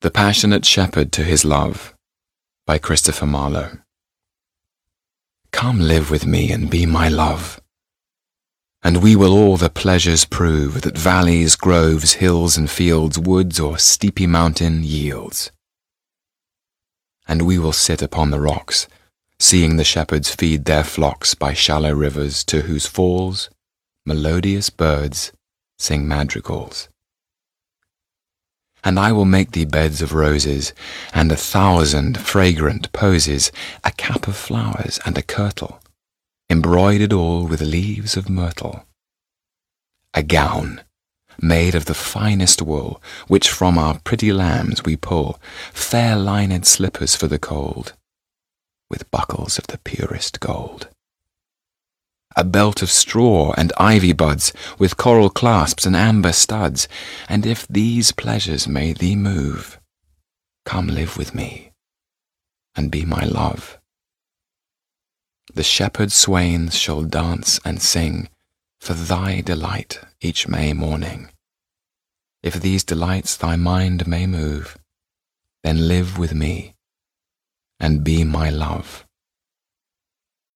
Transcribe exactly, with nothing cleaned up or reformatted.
The Passionate Shepherd to His Love by Christopher Marlowe. Come live with me and be my love, and we will all the pleasures prove that valleys, groves, hills and fields, woods or steepy mountain yields. And we will sit upon the rocks, seeing the shepherds feed their flocks by shallow rivers, to whose falls melodious birds sing madrigals. And I will make thee beds of roses, and a thousand fragrant posies, a cap of flowers and a kirtle, embroidered all with leaves of myrtle. A gown, made of the finest wool, which from our pretty lambs we pull, fair lined slippers for the cold, with buckles of the purest gold. A belt of straw and ivy buds, with coral clasps and amber studs, and if these pleasures may thee move, come live with me, and be my love. The shepherd swains shall dance and sing for thy delight each May morning. If these delights thy mind may move, then live with me, and be my love.